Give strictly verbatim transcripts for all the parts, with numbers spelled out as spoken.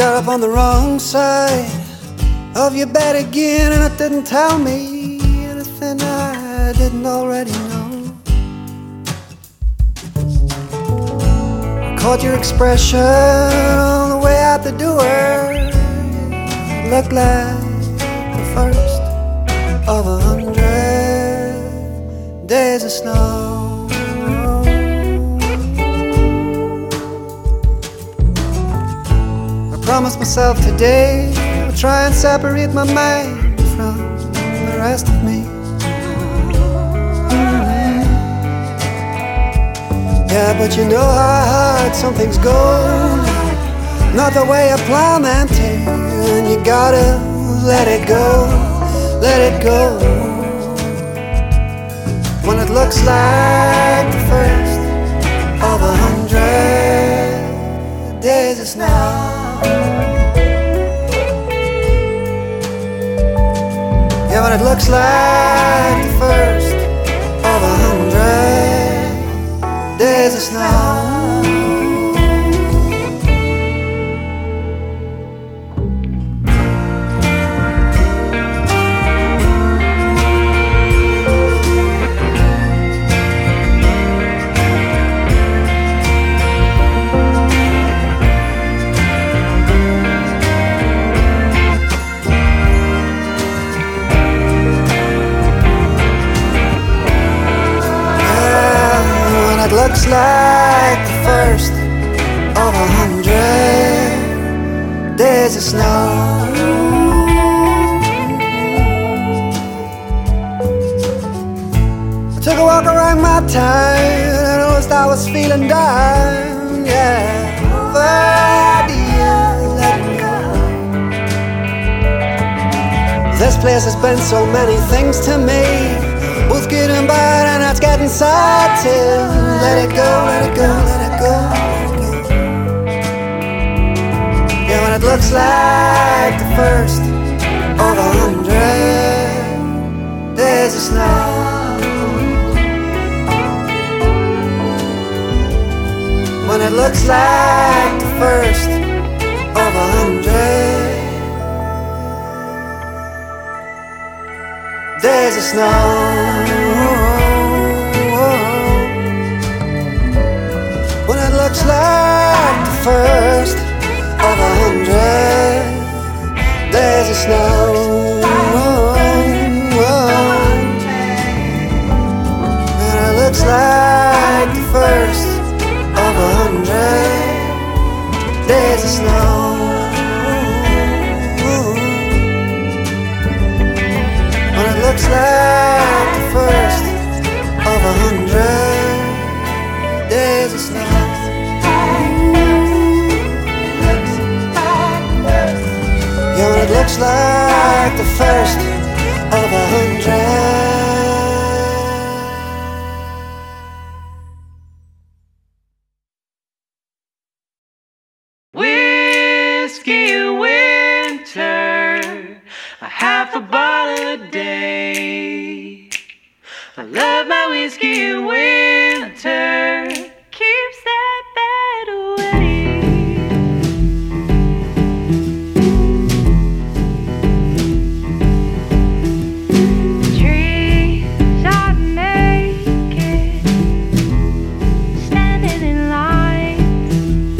got up on the wrong side of your bed again, and it didn't tell me anything I didn't already know. I caught your expression on the way out the door. It looked like the first of a hundred days of snow. I promised myself today I would try and separate my mind from the rest of me. Mm-hmm. Yeah, but you know how hard some things go, not the way you plan them to, and you gotta let it go, let it go. When it looks like the first of a hundred days of snow. Yeah, when it looks like the first of a hundred days of snow. It looks like the first of a hundred days of snow. I took a walk around my town and I noticed I was feeling down. Yeah, the idea letting go. This place has been so many things to me, both good and bad, and it's getting sad too. Let it go, let it go, let it go, let it go. Yeah, when it looks like the first of a hundred days of snow. When it looks like the first of a hundred days of snow. When it looks like the first of a hundred days of snow. When it looks like the first of a hundred days of snow. When it looks like the first of a hundred days of snow. Yeah, when it looks like the first of a hundred. Whiskey winter, a half a bottle a day. I love my whiskey in winter, keeps that bad away. The trees are naked, standing in lines,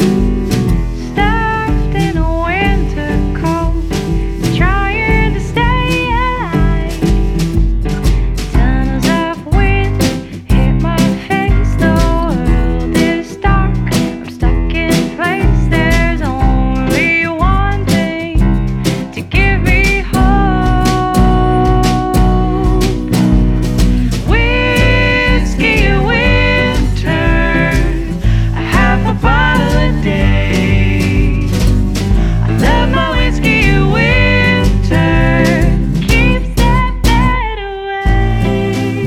stuffed in a winter coat, trying to stay alive. Tunnels of wind hit my face, the world is dark, I'm stuck in place. There's only one thing to give me hope. Whiskey winter, a half a bottle a day. I love my whiskey winter, keeps that bad away.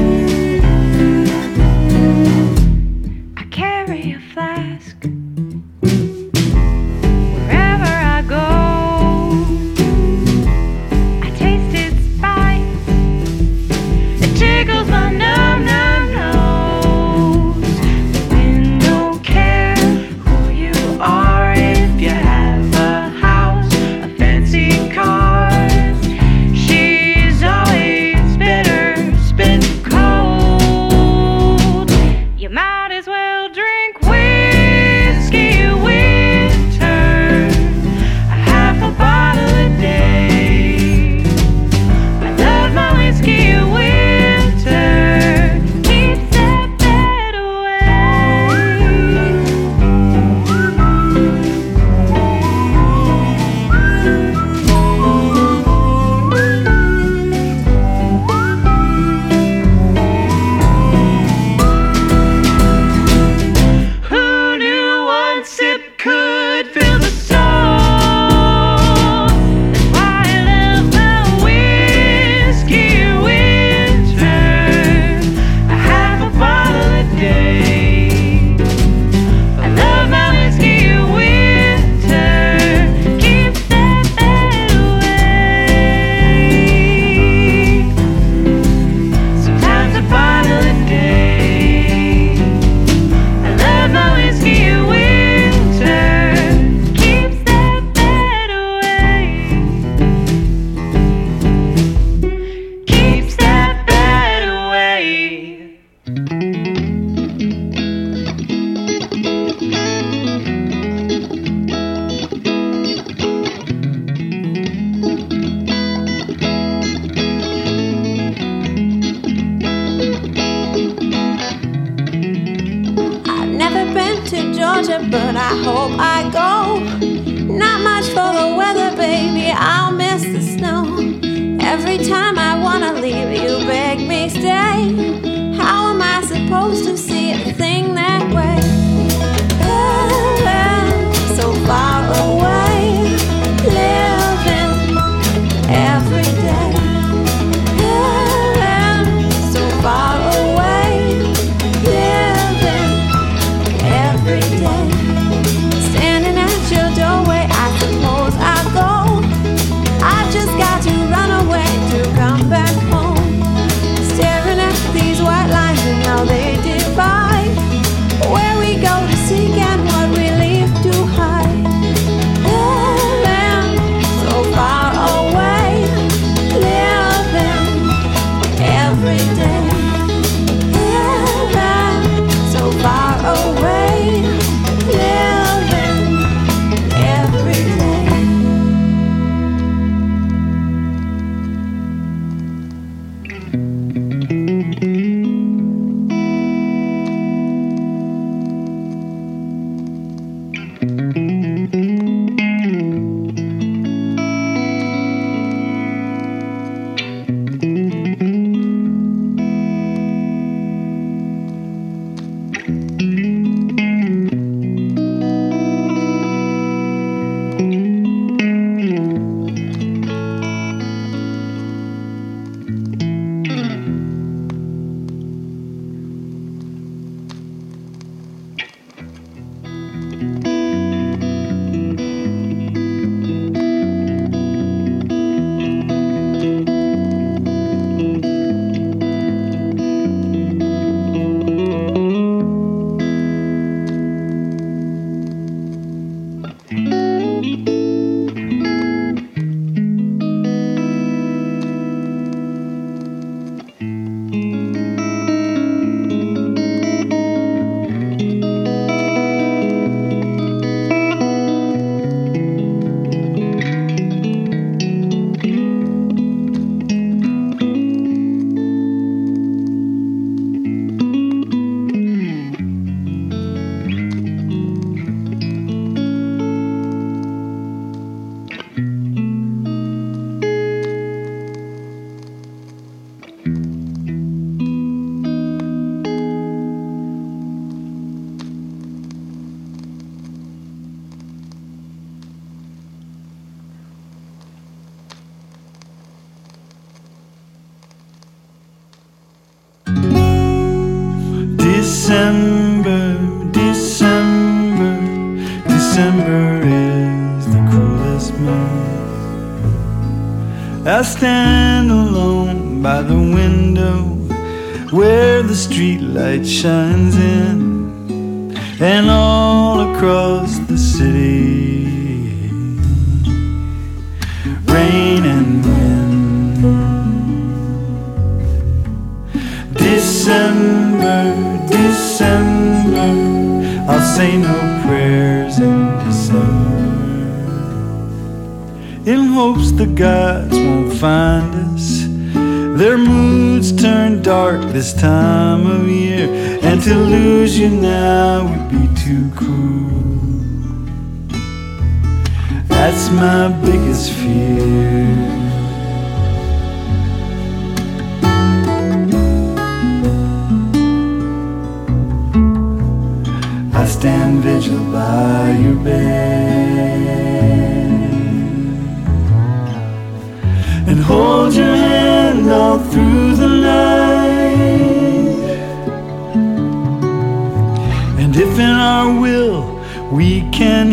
I carry a flask wherever I go. I taste its spice, it tickles my numb, numb nose. The wind don't care who you are if you have a to Georgia, but I hope I go. Not much for the weather, baby, I'll miss the snow. Every time I wanna leave, you beg me stay. How am I supposed to see a thing that way? Heaven, so far away, living every day. Heaven, so far away, living every day. Standing at your doorway, I suppose I'll go. I just got to run away to come back home. Staring at these white lines and how they divide where we go to seek and what we leave to hide. Heaven, so far away, living every day. Heaven, so far away, living every day. December, December, December is the coolest month. I stand alone by the window where the street light shines in, and all across the city, rain and wind. December, December, I'll say no prayers in December, in hopes the gods won't find us. Their moods turn dark this time of year, and to lose you now would be too cruel. That's my biggest fear. I stand vigil by your bed and hold your hand all through the night. And if in our will we can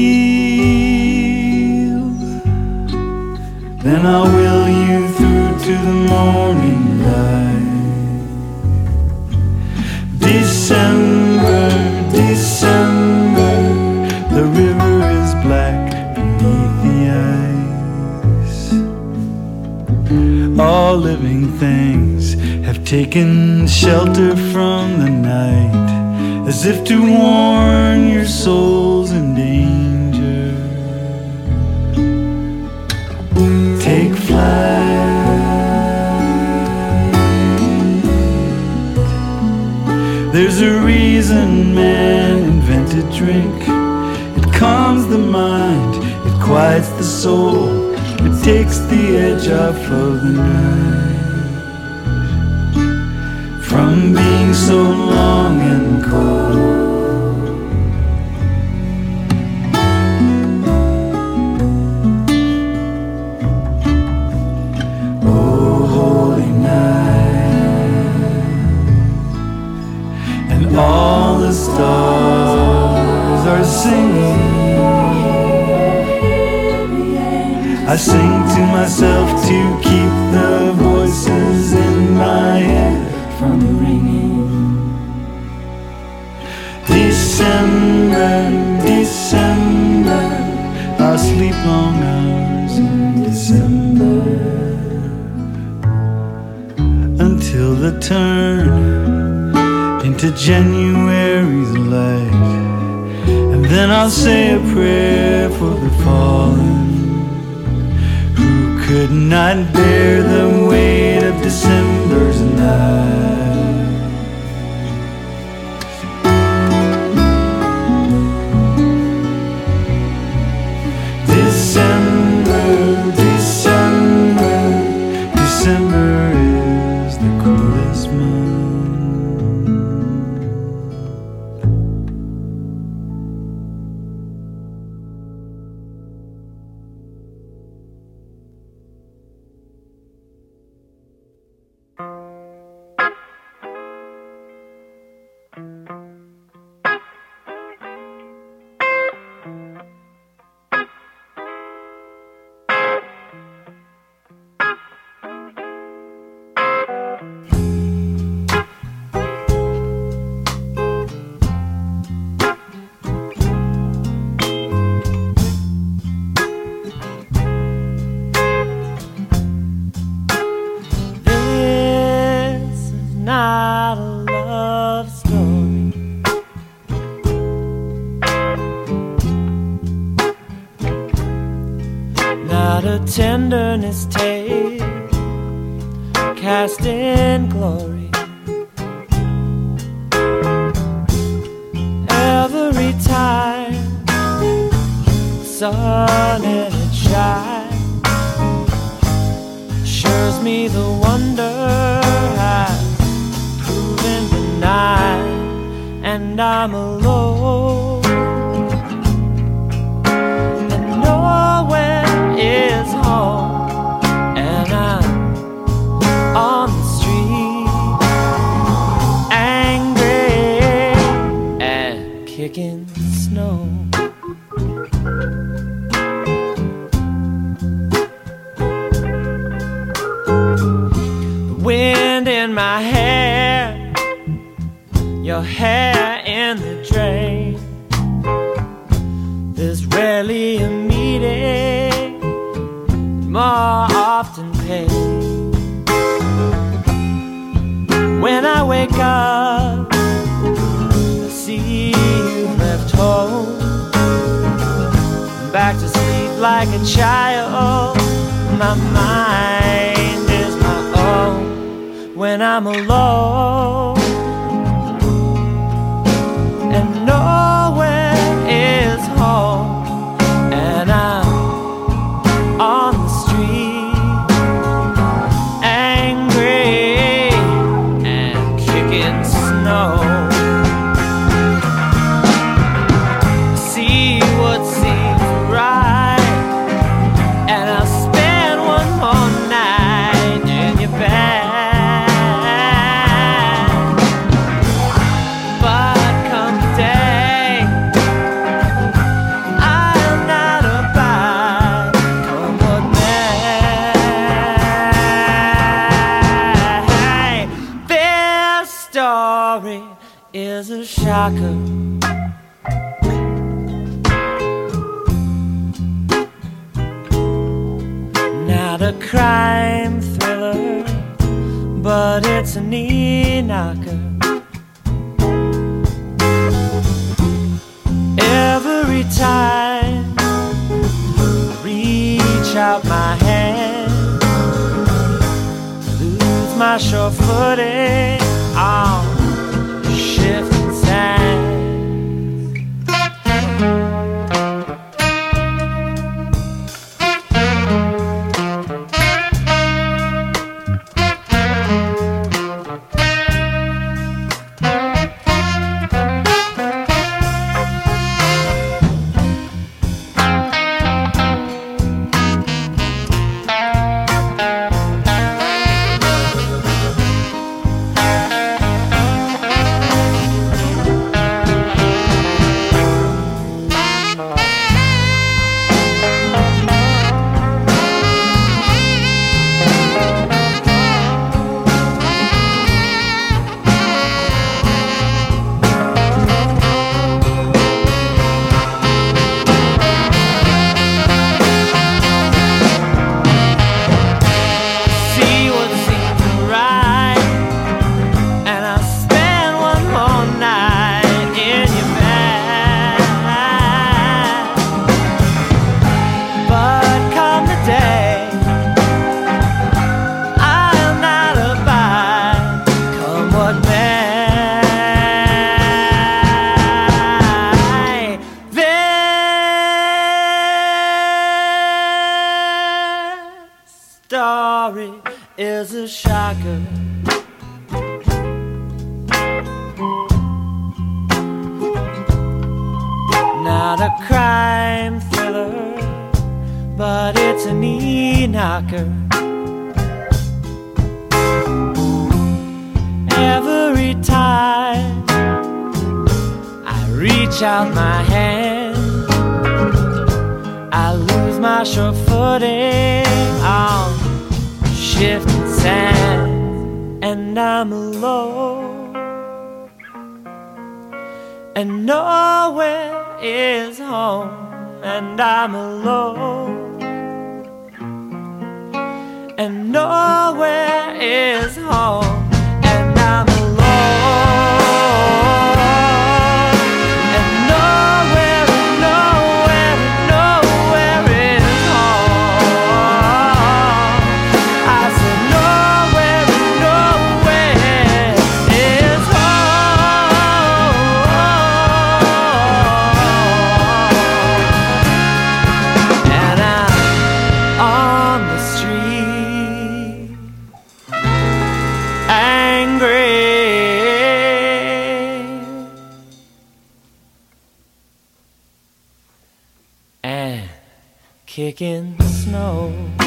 heal, then I'll will you through to the morning light. December, December, the river is black beneath the ice. All living things have taken shelter from the night, as if to warn your souls in danger. Take flight. There's a reason man invented drink. It calms the mind, it quiets the soul, it takes the edge off of the night. From being so long and cold. All the stars are singing. I sing to myself to keep the voices in my head from ringing. December, December, I'll sleep long hours in December until the turn into January's light, and then I'll say a prayer for the fallen who could not bear the weight of December's night. December, December, December is the coolest month. Tenderness tale cast in glory. Every time the sun and it shines assures me the wonder I've proven denied, and I'm alone. Is home, and I'm on the street, angry and kicking snow. The wind in my hair, your hair in the drain. There's rarely a meeting, more often pain. When I wake up, I see you've left home, back to sleep like a child. My mind is my own when I'm alone, and nowhere is home, and I'm on the street, angry and kicking snow. See what seems right, and I'll spend one more night in your bed. But come the day, I'll not abide. Come what may. This story is a shocker. Not a crime thriller, but it's a knee knocker. Every time I reach out my hand, lose my sure footing on shifting sands. story is a shocker. Not a crime thriller, but it's a knee knocker. Every time I reach out my hand, I lose my sure footing on shifting sand, and I'm alone, and nowhere is home, and I'm alone, and nowhere is home, and I'm alone. Kicking snow.